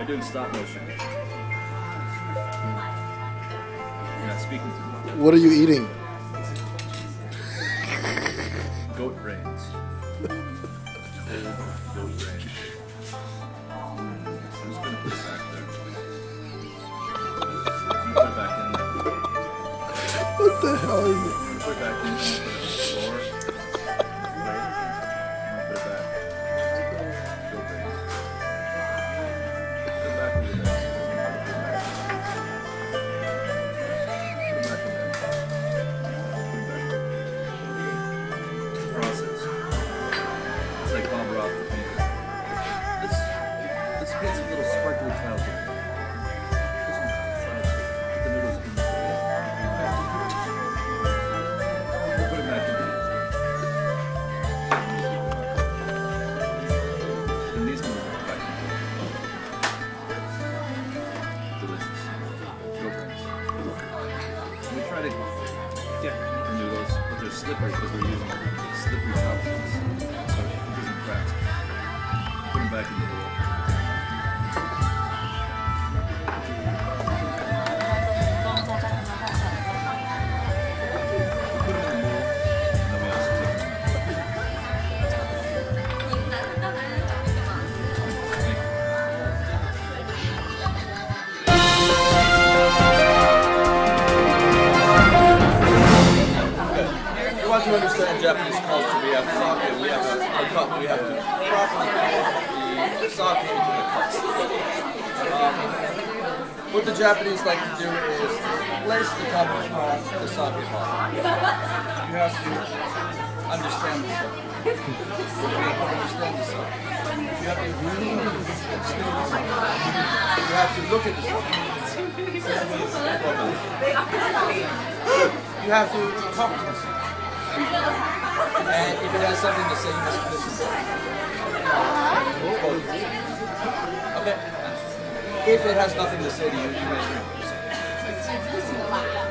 Are doing stop motion. You're not speaking to me. What are you eating? Goat brains. Cold goat brains. I'm just gonna put it back there. I'm gonna put it back in there. What the hell is it? I'm gonna put it back in there. Put it on the floor. Right. I'm gonna put it back. Goat brains. Put it back over there. Put it back in there. Put it back there. It's a process. It's like Bob Ross the painter. Let's get some little sparkly clouds in there. Put some clouds. Put the noodles in there. We'll put it back in there. And these ones are back in there. Delicious. Go friends. We try to get the noodles, but they're slippery because we're using slippery chopsticks. So it doesn't crack. Put them back in the bowl. Put them in the bowl, and then we also take them. If you want to understand Japanese culture, we have sake, we have a cup, we have to properly put the sake into the cup. What the Japanese like to do is place the cup on the sake pot. You have to understand the sake. You have to understand the sake. You have to really understand the sake. You have to look at the sake. You have to talk to the sake. And if it has something to say, you must listen. Okay. If it has nothing to say to you, you may drink.